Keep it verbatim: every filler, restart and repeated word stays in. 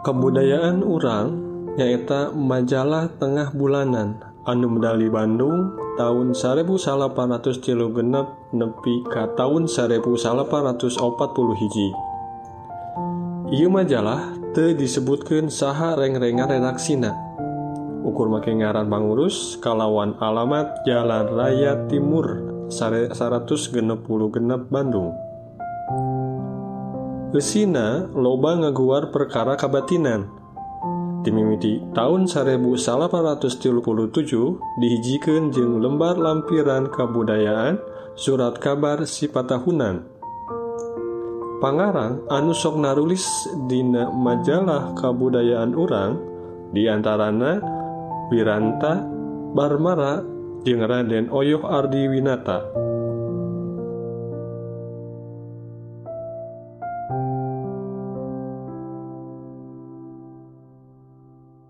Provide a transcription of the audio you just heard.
Kebudayaan urang nyaeta majalah tengah bulanan anu medali Bandung tahun seribu salapan ratus tilu genep nepi ka tahun seribu salapan ratus opat puluh hiji. Ieu majalah teu disebutkeun saha reng-rengan redaksina. Ukur make ngaran pangurus kalawan alamat Jalan Raya Timur seratus genep puluh genep Bandung. Eusina loba ngaguar perkara kabatinan. Di mimiti tahun seribu salapan ratus tilu puluh tujuh dihijikeun jeung lembar lampiran kabudayaan surat kabar sipatahunan. Pangarang anu sok narulis dina majalah kabudayaan urang diantarana Wiranta Barmara jeung Raden Oyoh Ardiwinata.